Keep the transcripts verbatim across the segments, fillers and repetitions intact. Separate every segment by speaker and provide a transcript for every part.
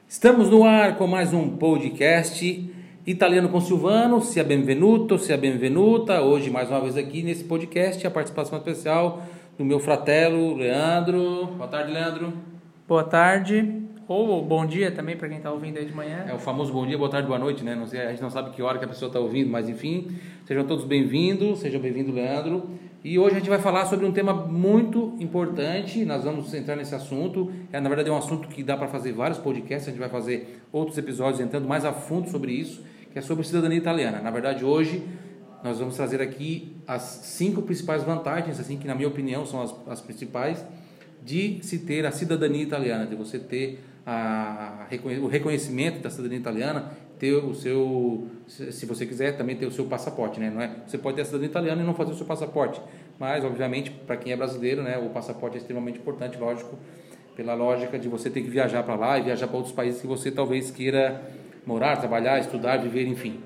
Speaker 1: Estamos no ar com mais um podcast Italiano com Silvano. Sia benvenuto, sia benvenuta. Hoje, mais uma vez aqui nesse podcast, a participação especial do meu fratelo, Leandro. Boa tarde, Leandro.
Speaker 2: Boa tarde, ou bom dia também para quem está ouvindo aí de manhã.
Speaker 1: É o famoso bom dia, boa tarde, boa noite, né? Não sei, a gente não sabe que hora que a pessoa está ouvindo, mas enfim, sejam todos bem-vindos, seja bem-vindo, Leandro. E hoje a gente vai falar sobre um tema muito importante. Nós vamos entrar nesse assunto. É, na verdade é um assunto que dá para fazer vários podcasts. A gente vai fazer outros episódios entrando mais a fundo sobre isso, que é sobre cidadania italiana. Na verdade hoje nós vamos trazer aqui as cinco principais vantagens, assim, que na minha opinião são as, as principais, de se ter a cidadania italiana, de você ter a, o reconhecimento da cidadania italiana, ter o seu, se você quiser também ter o seu passaporte, né? Não é? Você pode ter a cidadania italiana e não fazer o seu passaporte, mas obviamente para quem é brasileiro, né, o passaporte é extremamente importante, lógico, pela lógica de você ter que viajar para lá e viajar para outros países que você talvez queira morar, trabalhar, estudar, viver, enfim.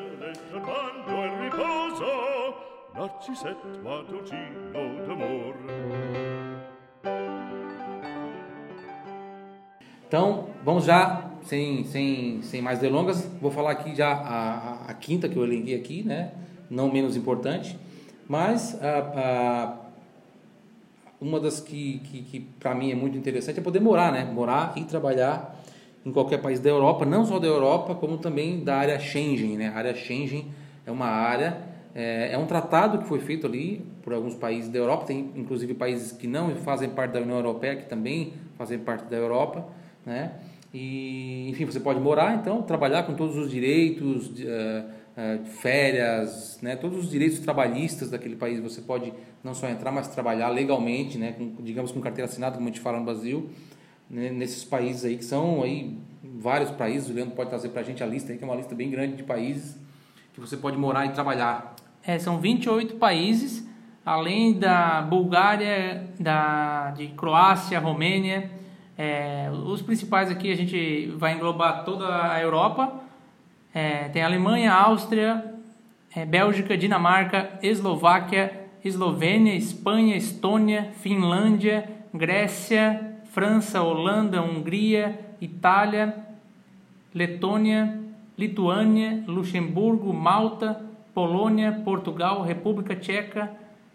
Speaker 1: Então, vamos já, sem, sem, sem mais delongas, vou falar aqui já a, a, a quinta que eu elenquei aqui, né? Não menos importante, mas a, a, uma das que, que, que para mim é muito interessante é poder morar, né? Morar e trabalhar em qualquer país da Europa, não só da Europa, como também da área Schengen, né? A área Schengen é uma área, é, é um tratado que foi feito ali por alguns países da Europa, tem inclusive países que não fazem parte da União Europeia, que também fazem parte da Europa, né? E, enfim, você pode morar, então, trabalhar com todos os direitos, uh, uh, férias, né? Todos os direitos trabalhistas daquele país. Você pode não só entrar, mas trabalhar legalmente, né? Com, digamos, com carteira assinada, como a gente fala no Brasil, né? Nesses países aí, que são aí vários países. O Leandro pode trazer pra gente a lista aí, que é uma lista bem grande de países que você pode morar e trabalhar.
Speaker 2: É, são vinte e oito países, além da Bulgária, da, de Croácia, Romênia. É, os principais aqui a gente vai englobar toda a Europa. É, tem Alemanha, Áustria, é, Bélgica, Dinamarca, Eslováquia, Eslovênia, Espanha, Estônia, Finlândia, Grécia, França, Holanda, Hungria, Itália, Letônia, Lituânia, Luxemburgo, Malta, Polônia, Portugal, República Tcheca,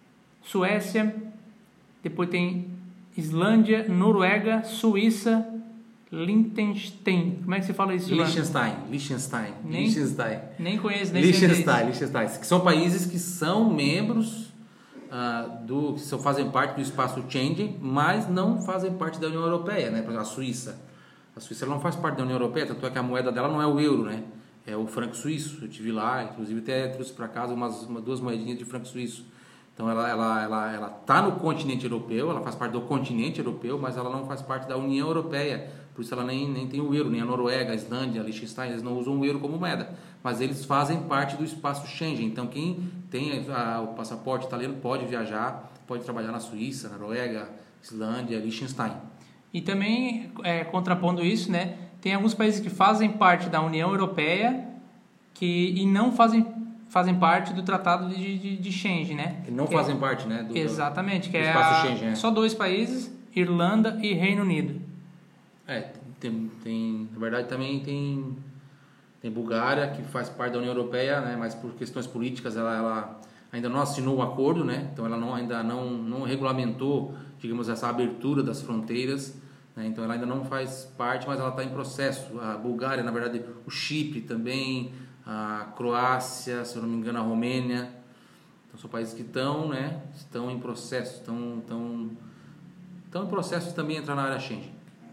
Speaker 2: Suécia. Depois tem Islândia, Noruega, Suíça, Liechtenstein. Como é que você fala isso?
Speaker 1: Liechtenstein, Liechtenstein,
Speaker 2: nem,
Speaker 1: Liechtenstein.
Speaker 2: Nem conheço, nem
Speaker 1: Liechtenstein, Liechtenstein, que são países que são membros uh, do, que são, fazem parte do espaço Schengen, mas não fazem parte da União Europeia, né? Por exemplo, a Suíça. A Suíça não faz parte da União Europeia, tanto é que a moeda dela não é o euro, né? É o franco suíço. Eu tive lá, inclusive até trouxe para casa umas, uma, duas moedinhas de franco suíço. Então ela ela ela ela tá no continente europeu, ela faz parte do continente europeu, mas ela não faz parte da União Europeia. Por isso ela nem, nem tem o euro, nem a Noruega, a Islândia, a Liechtenstein, eles não usam o euro como moeda, mas eles fazem parte do espaço Schengen. Então quem tem a, o passaporte italiano pode viajar, pode trabalhar na Suíça, na Noruega, Islândia, Liechtenstein.
Speaker 2: E também, é, contrapondo isso, né, tem alguns países que fazem parte da União Europeia que, e não fazem fazem parte do Tratado de, de, de Schengen, né?
Speaker 1: Que não
Speaker 2: que
Speaker 1: fazem
Speaker 2: é,
Speaker 1: parte, né? Do,
Speaker 2: exatamente, que
Speaker 1: do
Speaker 2: é,
Speaker 1: espaço
Speaker 2: a,
Speaker 1: Schengen, é só
Speaker 2: dois países, Irlanda e Reino Unido.
Speaker 1: É, tem, tem, na verdade também tem, tem Bulgária, que faz parte da União Europeia, né? Mas por questões políticas ela, ela ainda não assinou o acordo, né? Então ela não, ainda não, não regulamentou, digamos, essa abertura das fronteiras, né? Então ela ainda não faz parte, mas ela está em processo. A Bulgária, na verdade, o Chipre também, a Croácia, se eu não me engano, a Romênia. Então são países que estão, né, estão em processo, estão, estão, estão em processo de também entrar na área Schengen.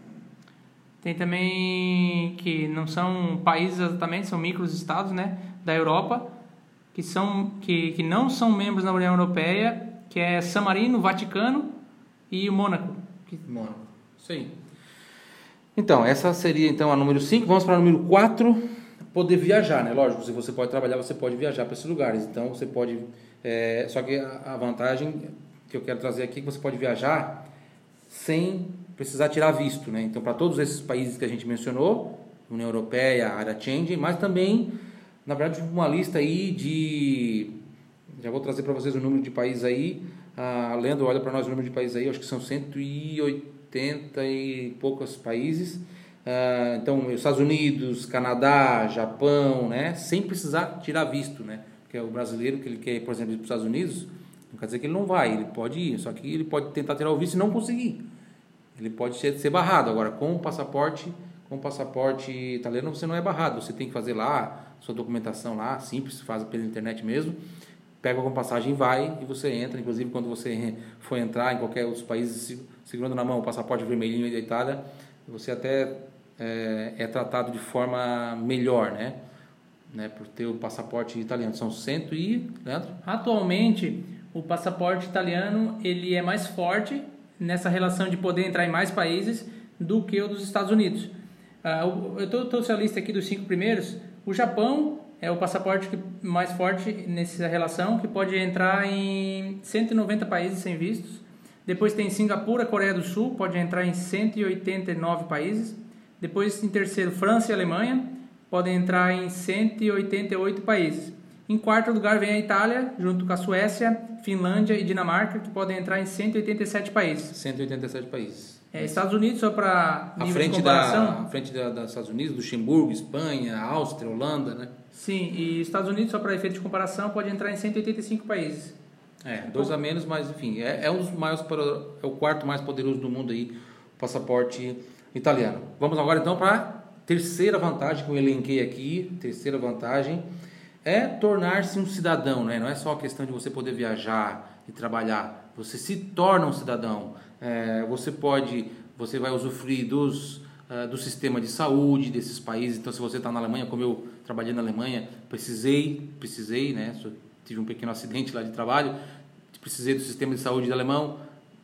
Speaker 2: Tem também que não são países exatamente, são microestados, né, da Europa, que, são, que, que não são membros da União Europeia, que é San Marino, Vaticano e o Mônaco.
Speaker 1: Mônaco, isso aí. Então, essa seria então a número cinco. Vamos para a número quatro. Poder viajar, né? Lógico, se você pode trabalhar, você pode viajar para esses lugares. Então, você pode... É, só que a, a vantagem que eu quero trazer aqui é que você pode viajar sem precisar tirar visto, né? Então, para todos esses países que a gente mencionou, União Europeia, área Schengen, mas também, na verdade, uma lista aí de... Já vou trazer para vocês o número de países aí. A Leandro olha para nós o número de países aí, acho que são cento e oitenta e poucos países. Uh, então, Estados Unidos, Canadá, Japão, né? Sem precisar tirar visto, né? Porque o brasileiro que ele quer ir, por exemplo, ir para os Estados Unidos, não quer dizer que ele não vai, ele pode ir, só que ele pode tentar tirar o visto e não conseguir. Ele pode ser, ser barrado. Agora, com o passaporte, com o passaporte italiano, você não é barrado, você tem que fazer lá sua documentação lá, simples, faz pela internet mesmo, pega alguma passagem e vai, e você entra. Inclusive, quando você for entrar em qualquer outros países, segurando na mão o passaporte vermelhinho da Itália, você até é, é tratado de forma melhor, né? né? Por ter o passaporte italiano. São cento e... Leandro?
Speaker 2: Atualmente, o passaporte italiano ele é mais forte nessa relação de poder entrar em mais países do que o dos Estados Unidos. Uh, eu trouxe a lista aqui dos cinco primeiros. O Japão é o passaporte que, mais forte nessa relação, que pode entrar em cento e noventa países sem vistos. Depois tem Singapura, Coreia do Sul, pode entrar em cento e oitenta e nove países. Depois, em terceiro, França e Alemanha, podem entrar em cento e oitenta e oito países. Em quarto lugar vem a Itália, junto com a Suécia, Finlândia e Dinamarca, que podem entrar em cento e oitenta e sete países.
Speaker 1: cento e oitenta e sete países.
Speaker 2: É, Estados Unidos, só para nível
Speaker 1: frente
Speaker 2: de comparação...
Speaker 1: Da, à frente da, dos Estados Unidos, Luxemburgo, Espanha, Áustria, Holanda, né?
Speaker 2: Sim, e Estados Unidos, só para efeito de comparação, pode entrar em cento e oitenta e cinco países.
Speaker 1: É, dois a menos, mas enfim, é, é um dos maiores, é o quarto mais poderoso do mundo aí, o passaporte italiano. Vamos agora então para a terceira vantagem que eu elenquei aqui. Terceira vantagem é tornar-se um cidadão, né? Não é só a questão de você poder viajar e trabalhar, você se torna um cidadão. É, você pode, você vai usufruir dos, uh, do sistema de saúde desses países. Então, se você está na Alemanha, como eu trabalhei na Alemanha, precisei, precisei, né? Tive um pequeno acidente lá de trabalho, precisei do sistema de saúde do alemão,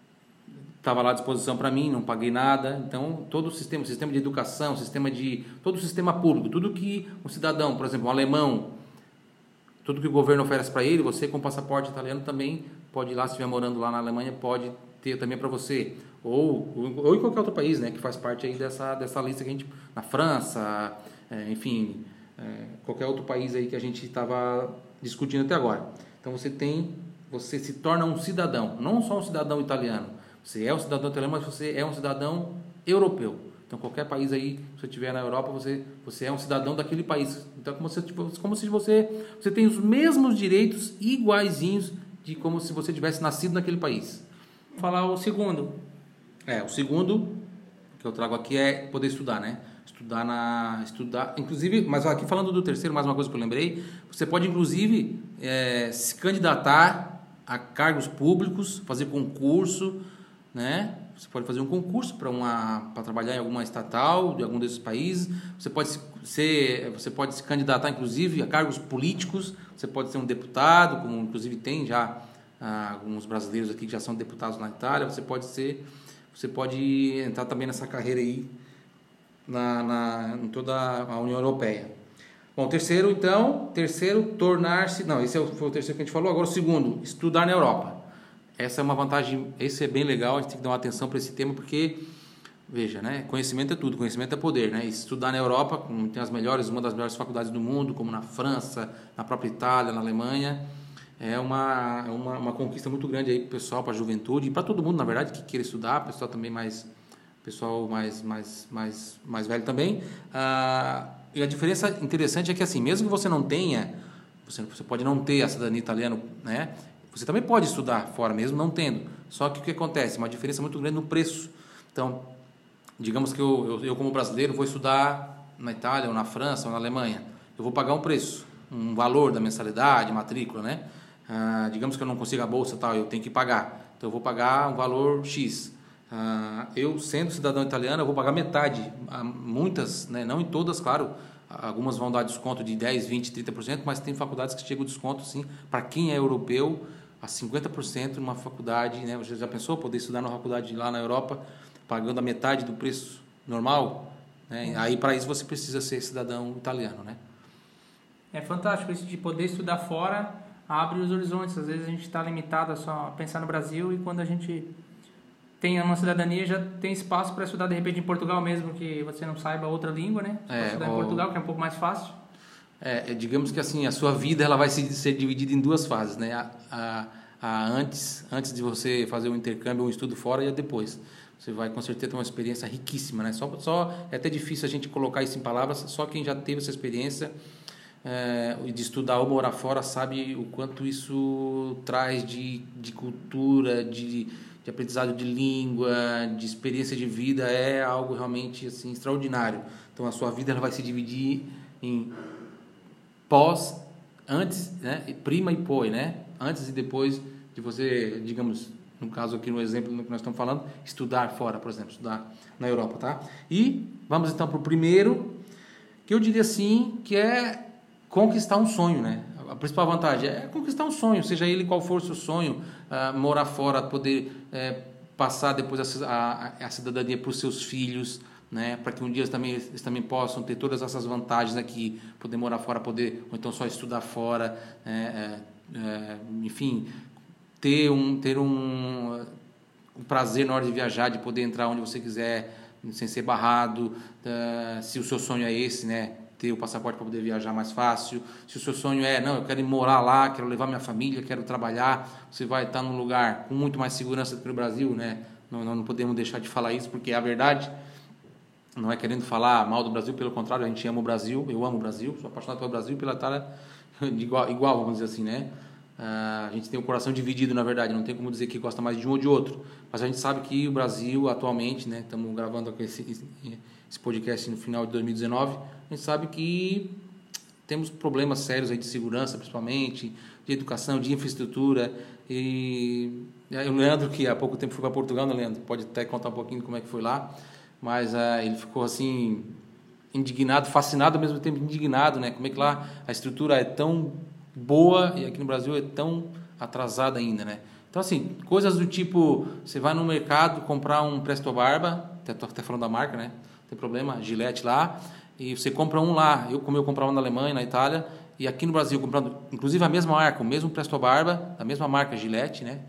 Speaker 1: estava lá à disposição para mim, não paguei nada. Então, todo o sistema, sistema de educação, sistema de, todo o sistema público, tudo que um cidadão, por exemplo, um alemão, tudo que o governo oferece para ele, você com passaporte italiano também pode ir lá, se estiver morando lá na Alemanha, pode ter também para você. Ou, ou em qualquer outro país, né, que faz parte aí dessa, dessa lista que a gente... Na França, é, enfim, é, qualquer outro país aí que a gente estava discutindo até agora. Então você tem, você se torna um cidadão, não só um cidadão italiano. Você é um cidadão italiano, mas você é um cidadão europeu. Então qualquer país aí, se você estiver na Europa, você, você é um cidadão daquele país. Então como se, como se você, você tem os mesmos direitos iguaizinhos de como se você tivesse nascido naquele país.
Speaker 2: Vou falar o segundo.
Speaker 1: É, o segundo que eu trago aqui é poder estudar, né? Estudar na... Estudar, inclusive, mas aqui falando do terceiro, mais uma coisa que eu lembrei, você pode inclusive é, se candidatar a cargos públicos, fazer concurso, né? Você pode fazer um concurso para uma para trabalhar em alguma estatal de algum desses países. Você pode ser, você pode se candidatar inclusive a cargos políticos. Você pode ser um deputado, como inclusive tem já ah, alguns brasileiros aqui que já são deputados na Itália. Você pode ser, você pode entrar também nessa carreira aí na, na em toda a União Europeia. Bom, terceiro então, terceiro tornar-se, não, esse foi o terceiro que a gente falou. Agora o segundo, estudar na Europa. Essa é uma vantagem, esse é bem legal, a gente tem que dar uma atenção para esse tema, porque, veja, né, conhecimento é tudo, conhecimento é poder, né? E estudar na Europa, tem as melhores, uma das melhores faculdades do mundo, como na França, na própria Itália, na Alemanha, é uma, é uma, uma conquista muito grande aí para o pessoal, para a juventude, e para todo mundo, na verdade, que queira estudar, pessoal também mais, pessoal mais, mais, mais, mais velho também. Ah, e a diferença interessante é que, assim, mesmo que você não tenha, você, você pode não ter a cidadania italiana, né? Você também pode estudar fora mesmo não tendo. Só que o que acontece? Uma diferença muito grande no preço. Então, digamos que eu, eu, eu como brasileiro vou estudar na Itália ou na França ou na Alemanha. Eu vou pagar um preço, um valor da mensalidade, matrícula, né? Ah, digamos que eu não consigo a bolsa e tal, eu tenho que pagar. Então eu vou pagar um valor X. Ah, eu, sendo cidadão italiano, eu vou pagar metade. Ah, muitas, né? Não em todas, claro. Algumas vão dar desconto de dez, vinte, trinta por cento, mas tem faculdades que chegam o desconto, sim, para quem é europeu, a cinquenta por cento numa faculdade, né? Você já pensou poder estudar numa faculdade lá na Europa, pagando a metade do preço normal? Né? Aí, para isso, você precisa ser cidadão italiano, né?
Speaker 2: É fantástico isso de poder estudar fora, abre os horizontes. Às vezes a gente está limitado a só pensar no Brasil, e quando a gente tem uma cidadania, já tem espaço para estudar de repente em Portugal, mesmo que você não saiba outra língua, né? Você
Speaker 1: é,
Speaker 2: pode estudar
Speaker 1: o...
Speaker 2: em Portugal, que é um pouco mais fácil.
Speaker 1: É, digamos que assim, a sua vida ela vai ser dividida em duas fases, né? A, a, a antes, antes de você fazer um intercâmbio ou um estudo fora, e a depois. você vai com certeza ter uma experiência riquíssima, né? Só, só é até difícil a gente colocar isso em palavras, só quem já teve essa experiência é, de estudar ou morar fora sabe o quanto isso traz de, de cultura, de, de aprendizado de língua, de experiência de vida, é algo realmente assim, extraordinário. Então a sua vida ela vai se dividir em pós, antes, né? Prima e pós, né? Antes e depois de você, digamos, no caso aqui no exemplo que nós estamos falando, estudar fora, por exemplo, estudar na Europa, tá? E vamos então para o primeiro, que eu diria assim, que é conquistar um sonho, né? A principal vantagem é conquistar um sonho, seja ele qual for o seu sonho, uh, morar fora, poder é, passar depois a, a, a cidadania para os seus filhos, né? Para que um dia eles também, eles também possam ter todas essas vantagens aqui, poder morar fora, poder, ou então só estudar fora, é, é, é, enfim, ter um ter um, um prazer na hora de viajar, de poder entrar onde você quiser sem ser barrado, uh, se o seu sonho é esse, né, ter o passaporte para poder viajar mais fácil. Se o seu sonho é, não, eu quero ir morar lá, quero levar minha família, quero trabalhar, você vai estar num lugar com muito mais segurança do que no Brasil, né? Não, não podemos deixar de falar isso, porque é a verdade. Não é querendo falar mal do Brasil, pelo contrário, a gente ama o Brasil, eu amo o Brasil, sou apaixonado pelo Brasil e pela Itália igual, igual, vamos dizer assim, né? Uh, a gente tem o coração dividido, na verdade, não tem como dizer que gosta mais de um ou de outro, mas a gente sabe que o Brasil atualmente, né, estamos gravando aqui esse, esse podcast no final de dois mil e dezenove, a gente sabe que temos problemas sérios aí de segurança, principalmente, de educação, de infraestrutura, e o Leandro, que há pouco tempo foi para Portugal, né, Leandro? Pode até contar um pouquinho como é que foi lá, mas uh, ele ficou assim, indignado, fascinado ao mesmo tempo indignado, né, como é que lá a estrutura é tão boa e aqui no Brasil é tão atrasada ainda, né? Então, assim, coisas do tipo, você vai no mercado comprar um Presto Barba, estou até falando da marca, né? Não tem problema, Gillette lá, e você compra um lá, eu como eu comprava na Alemanha, na Itália, e aqui no Brasil, comprando, inclusive a mesma marca, o mesmo Presto Barba, a mesma marca Gillette, né?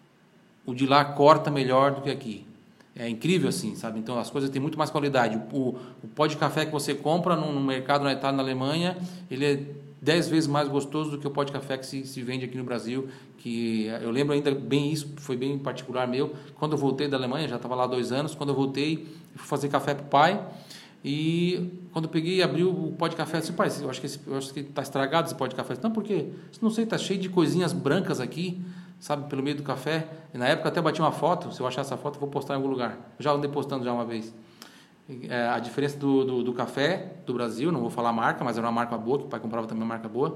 Speaker 1: O de lá corta melhor do que aqui. É incrível assim, sabe? Então as coisas têm muito mais qualidade. O, o pó de café que você compra no, no mercado na Itália, na Alemanha, ele é dez vezes mais gostoso do que o pó de café que se, se vende aqui no Brasil, que eu lembro ainda bem isso, foi bem particular meu, quando eu voltei da Alemanha, já estava lá há dois anos, quando eu voltei, eu fui fazer café para o pai, e quando eu peguei e abri o pó de café, eu disse, pai, eu acho que esse, eu acho que está estragado esse pó de café. Não, por quê? Não sei, está cheio de coisinhas brancas aqui, sabe, pelo meio do café, e na época eu até bati uma foto, se eu achar essa foto eu vou postar em algum lugar, eu já andei postando já uma vez. É, a diferença do, do, do café do Brasil, não vou falar a marca, mas era uma marca boa, que o pai comprava também uma marca boa,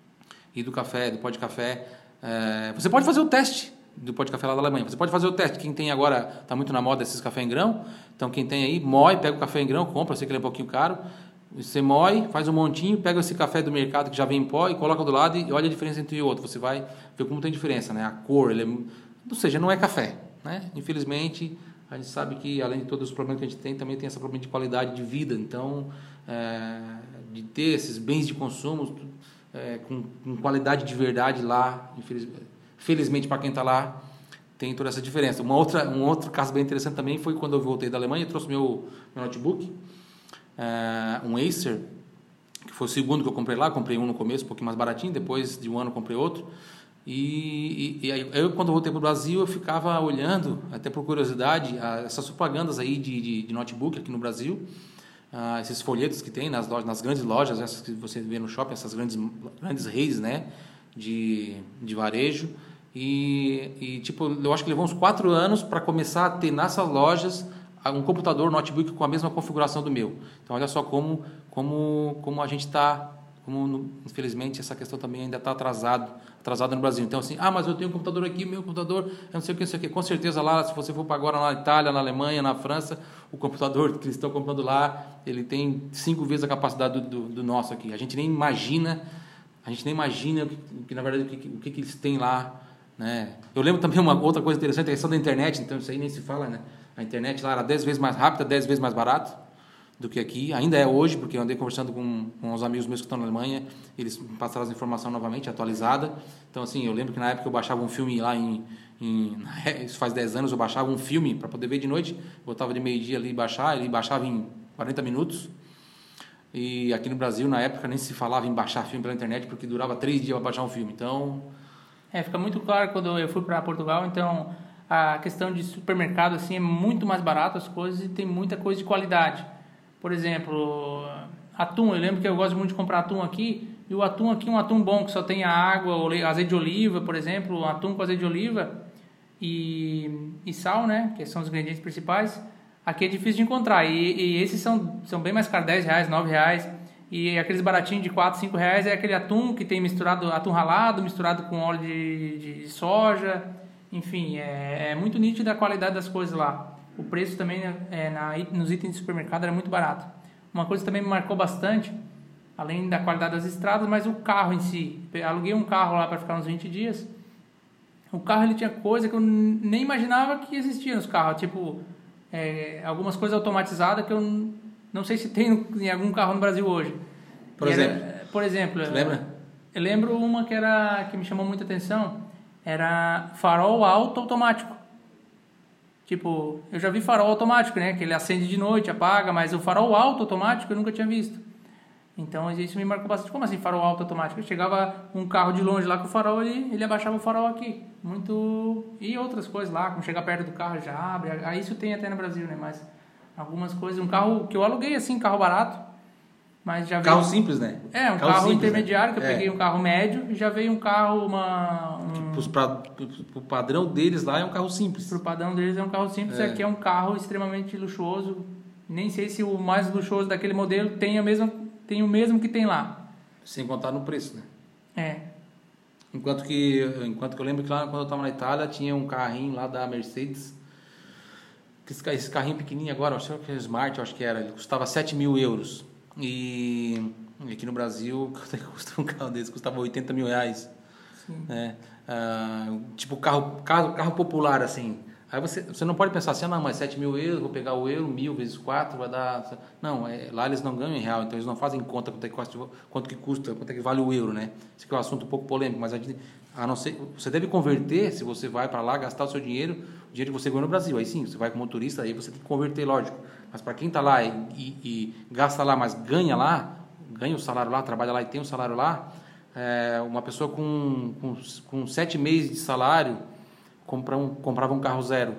Speaker 1: e do café, do pó de café, é, você pode fazer o teste do pó de café lá da Alemanha, você pode fazer o teste, quem tem agora, está muito na moda esses café em grão, então quem tem aí, moe, pega o café em grão, compra, eu sei que ele é um pouquinho caro, você moe, faz um montinho, pega esse café do mercado que já vem em pó e coloca do lado e olha a diferença entre um e outro, você vai ver como tem diferença, né? A cor, ele é, ou seja, não é café, né? Infelizmente, a gente sabe que, além de todos os problemas que a gente tem, também tem esse problema de qualidade de vida. Então, é, de ter esses bens de consumo é, com, com qualidade de verdade lá, infelizmente, felizmente para quem está lá, tem toda essa diferença. Uma outra, um outro caso bem interessante também foi quando eu voltei da Alemanha, eu trouxe meu, meu notebook, é, um Acer, que foi o segundo que eu comprei lá, comprei um no começo, um pouquinho mais baratinho, depois de um ano comprei outro. E, e, e aí eu, quando eu voltei para o Brasil, eu ficava olhando, até por curiosidade, a, essas propagandas aí de, de, de notebook aqui no Brasil, ah, esses folhetos que tem nas, lojas, nas grandes lojas, essas que você vê no shopping, essas grandes, grandes redes, né, de, de varejo. E, e tipo, eu acho que levou uns quatro anos para começar a ter nessas lojas um computador, um notebook com a mesma configuração do meu. Então, olha só como, como, como a gente está, como infelizmente essa questão também ainda está atrasado, atrasado no Brasil. Então, assim, ah, mas eu tenho um computador aqui, meu computador, eu não sei o que, não sei o que. Com certeza lá, se você for para agora na Itália, na Alemanha, na França, o computador que eles estão comprando lá, ele tem cinco vezes a capacidade do, do, do nosso aqui. A gente nem imagina, a gente nem imagina que, que na verdade, o que, o que, que eles têm lá, né? Eu lembro também uma outra coisa interessante, a questão da internet, então isso aí nem se fala, né? A internet lá era dez vezes mais rápida, dez vezes mais barato do que aqui. Ainda é hoje, porque eu andei conversando com, com uns amigos meus que estão na Alemanha, eles passaram as informações novamente, atualizada. Então, assim, eu lembro que na época eu baixava um filme lá em... em isso faz dez anos, eu baixava um filme para poder ver de noite, botava de meio-dia ali e baixar, ele baixava em quarenta minutos. E aqui no Brasil, na época, nem se falava em baixar filme pela internet, porque durava três dias para baixar um filme. Então...
Speaker 2: É, fica muito claro quando eu fui para Portugal, então... a questão de supermercado assim é muito mais barato as coisas e tem muita coisa de qualidade. Por exemplo, atum, eu lembro que eu gosto muito de comprar atum aqui, e o atum aqui é um atum bom, que só tem a água, azeite de oliva, por exemplo, atum com azeite de oliva e, e sal, né, que são os ingredientes principais. Aqui é difícil de encontrar, e, e esses são, são bem mais caros, dez reais, nove reais, e aqueles baratinhos de quatro, cinco reais é aquele atum que tem misturado, atum ralado, misturado com óleo de, de, de soja, enfim, é, é muito nítida a qualidade das coisas lá. O preço também é, na, nos itens de supermercado era muito barato. Uma coisa que também me marcou bastante, além da qualidade das estradas, mas o carro em si. Eu aluguei um carro lá para ficar uns vinte dias. O carro ele tinha coisa que eu nem imaginava que existia nos carros. Tipo, é, algumas coisas automatizadas que eu não sei se tem em algum carro no Brasil hoje.
Speaker 1: Por
Speaker 2: e
Speaker 1: exemplo?
Speaker 2: Era, por exemplo...
Speaker 1: Você lembra?
Speaker 2: Eu lembro uma que, era, que me chamou muita atenção. Era farol alto automático. Tipo, eu já vi farol automático, né? Que ele acende de noite, apaga, mas o farol alto automático eu nunca tinha visto. Então isso me marcou bastante. Como assim farol alto automático? Eu chegava um carro de longe lá com o farol, ele, ele abaixava o farol aqui. Muito... E outras coisas lá, como chegar perto do carro já abre. Aí isso tem até no Brasil, né? Mas algumas coisas... Um carro que eu aluguei assim, carro barato. Mas já
Speaker 1: Carro
Speaker 2: veio...
Speaker 1: simples, né?
Speaker 2: É, um
Speaker 1: carro,
Speaker 2: carro
Speaker 1: simples,
Speaker 2: intermediário,
Speaker 1: né?
Speaker 2: que eu
Speaker 1: é.
Speaker 2: peguei um carro médio. E já veio um carro, uma... Um...
Speaker 1: O padrão deles lá é um carro simples.
Speaker 2: Pro padrão deles é um carro simples,
Speaker 1: é.
Speaker 2: Aqui é um carro extremamente luxuoso. Nem sei se o mais luxuoso daquele modelo tem, a mesma, tem o mesmo que tem lá.
Speaker 1: Sem contar no preço, né?
Speaker 2: É.
Speaker 1: Enquanto que, enquanto que eu lembro que lá quando eu estava na Itália tinha um carrinho lá da Mercedes. Esse carrinho pequenininho agora, acho que é Smart, eu acho que era. Ele custava sete mil euros. E aqui no Brasil, quanto é que custa um carro desse? Custava oitenta mil reais.
Speaker 2: Sim.
Speaker 1: É. Ah, tipo carro, carro, carro popular assim. Aí você, você não pode pensar assim, ah, não, mas sete mil euros, vou pegar o euro, mil vezes quatro, vai dar... Não, é, lá eles não ganham em real, então eles não fazem conta quanto, é que custa, quanto que custa, quanto é que vale o euro, né? Esse aqui é um assunto um pouco polêmico, mas a, gente, a não ser, você deve converter, se você vai para lá gastar o seu dinheiro, o dinheiro que você ganhou no Brasil, aí sim, você vai com motorista, aí você tem que converter, lógico. Mas para quem está lá e, e, e gasta lá, mas ganha lá, ganha o salário lá, trabalha lá e tem o salário lá, é, uma pessoa com, com, com sete meses de salário compra um, comprava um carro zero.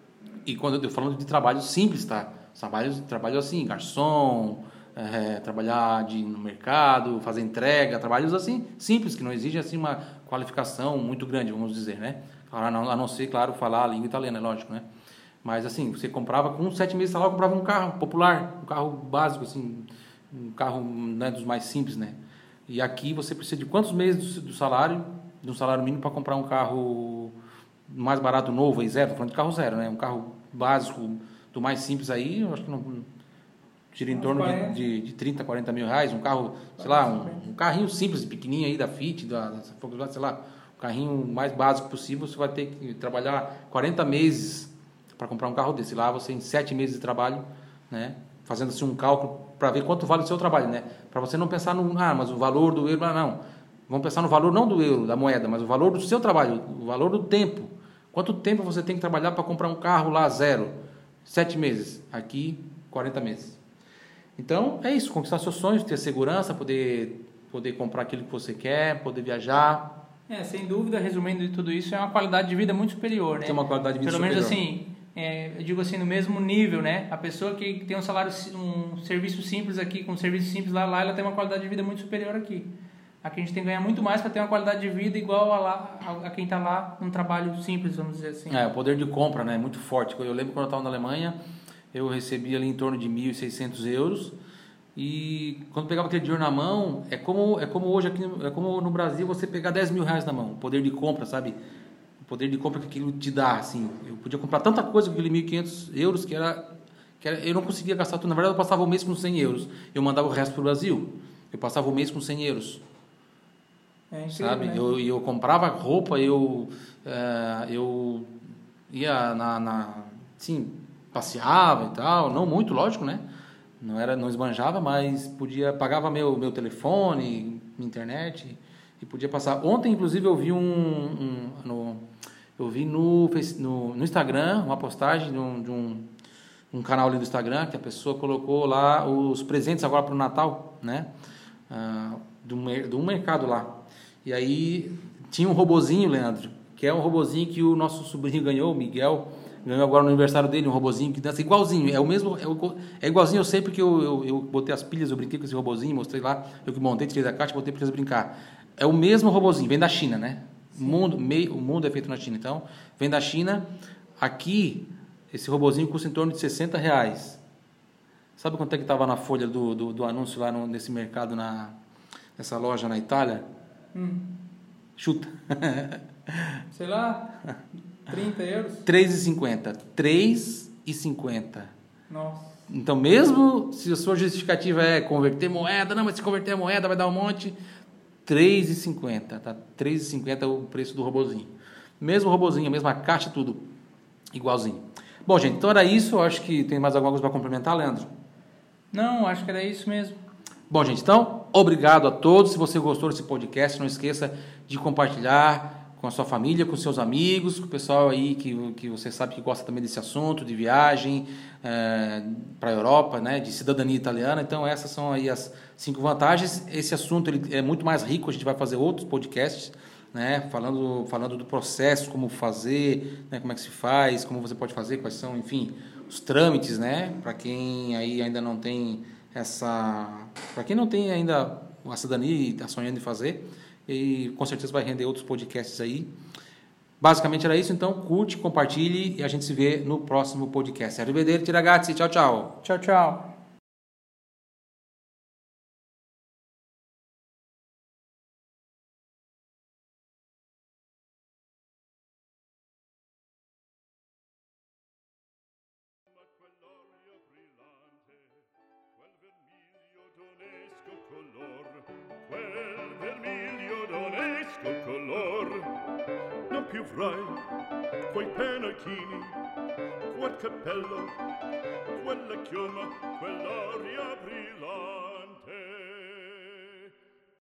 Speaker 1: E quando eu estou falando de trabalho simples, tá? Trabalho, trabalho assim, garçom, é, trabalhar de, no mercado, fazer entrega, trabalhos assim, simples, que não exigem assim, uma qualificação muito grande, vamos dizer, né? A não, a não ser, claro, falar a língua italiana, é lógico, né? Mas assim, você comprava com sete meses de salário, comprava um carro popular, um carro básico, assim, um carro, né, dos mais simples, né? E aqui você precisa de quantos meses do, do salário, de um salário mínimo para comprar um carro mais barato, novo, aí zero, tô falando de carro zero, né? Um carro básico, do mais simples aí, eu acho que não gira em torno de, de, de trinta, quarenta mil reais, um carro, sei lá, um, um carrinho simples, pequenininho aí da Fiat, da, da, sei lá, um carrinho mais básico possível, você vai ter que trabalhar quarenta meses para comprar um carro desse. Lá você, em sete meses de trabalho, né? Fazendo assim um cálculo para ver quanto vale o seu trabalho, né? Para você não pensar no, ah, mas o valor do euro, não. Vamos pensar no valor não do euro, da moeda, mas o valor do seu trabalho, o valor do tempo. Quanto tempo você tem que trabalhar para comprar um carro lá zero? Sete meses. Aqui, quarenta meses. Então, é isso. Conquistar seus sonhos, ter segurança, poder, poder comprar aquilo que você quer, poder viajar.
Speaker 2: É, sem dúvida, resumindo de tudo isso, é uma qualidade de vida muito superior, né?
Speaker 1: Tem uma qualidade de vida
Speaker 2: Pelo
Speaker 1: superior.
Speaker 2: Pelo menos assim, é, eu digo assim, no mesmo nível, né? A pessoa que tem um salário, um serviço simples aqui, com um serviço simples lá, lá ela tem uma qualidade de vida muito superior aqui. Aqui a gente tem que ganhar muito mais para ter uma qualidade de vida igual a, lá, a, a quem está lá num trabalho simples, vamos dizer assim.
Speaker 1: É, o poder de compra, né, é muito forte. Eu lembro quando eu estava na Alemanha, eu recebia ali em torno de mil e seiscentos euros e quando pegava aquele dinheiro na mão, é como, é como hoje aqui, é como no Brasil você pegar dez mil reais na mão, o poder de compra, sabe? O poder de compra que aquilo te dá, assim. Eu podia comprar tanta coisa com aquele mil e quinhentos euros que era, que era, eu não conseguia gastar tudo. Na verdade, eu passava o mês com cem euros, eu mandava o resto para o Brasil. Eu passava o mês com cem euros.
Speaker 2: É incrível,
Speaker 1: sabe?
Speaker 2: Né?
Speaker 1: Eu, eu comprava roupa, eu, uh, eu ia na, na, sim, passeava e tal, não muito, lógico, né? Não era, não esbanjava, mas podia, pagava meu, meu telefone, minha internet e podia passar. Ontem, inclusive, eu vi um, um no, eu vi no, no, no Instagram uma postagem de um, de um, um canal ali do Instagram que a pessoa colocou lá os presentes agora para o Natal, né? Uh, de um, de um mercado lá. E aí tinha um robozinho, Leandro, que é um robozinho que o nosso sobrinho ganhou, o Miguel, ganhou agora no aniversário dele, um robozinho que dança igualzinho, é o mesmo, é, o, é igualzinho eu sei porque eu, eu, eu botei as pilhas, eu brinquei com esse robozinho, mostrei lá, eu que montei, tirei da caixa, botei para eles brincar. É o mesmo robozinho, vem da China, né? O mundo, meio, o mundo é feito na China, então, vem da China. Aqui, esse robozinho custa em torno de sessenta reais. Sabe quanto é que estava na folha do, do, do anúncio lá no, nesse mercado, na, nessa loja na Itália?
Speaker 2: Hum.
Speaker 1: Chuta.
Speaker 2: Sei lá, trinta euros?
Speaker 1: três reais e cinquenta centavos. três reais e cinquenta centavos.
Speaker 2: Nossa.
Speaker 1: Então, mesmo se a sua justificativa é converter moeda, não, mas se converter a moeda vai dar um monte, três reais e cinquenta centavos, tá? três reais e cinquenta centavos é o preço do robozinho. Mesmo robozinho, a mesma caixa, tudo igualzinho. Bom, gente, então era isso. Eu acho que tem mais alguma coisa para complementar, Leandro?
Speaker 2: Não, acho que era isso mesmo.
Speaker 1: Bom, gente, então, obrigado a todos. Se você gostou desse podcast, não esqueça de compartilhar com a sua família, com seus amigos, com o pessoal aí que, que você sabe que gosta também desse assunto, de viagem é, para a Europa, né, de cidadania italiana. Então, essas são aí as cinco vantagens. Esse assunto ele é muito mais rico, a gente vai fazer outros podcasts, né, falando, falando do processo, como fazer, né, como é que se faz, como você pode fazer, quais são, enfim, os trâmites, né, para quem aí ainda não tem essa... Para quem não tem ainda a cidadania e está sonhando em fazer, e com certeza vai render outros podcasts aí. Basicamente era isso, então curte, compartilhe e a gente se vê no próximo podcast. Arrivederci ragazzi, tchau tchau.
Speaker 2: Tchau, tchau.
Speaker 3: Non più avrai quei pennacchini, quel cappello, quella chioma, quell'aria brillante.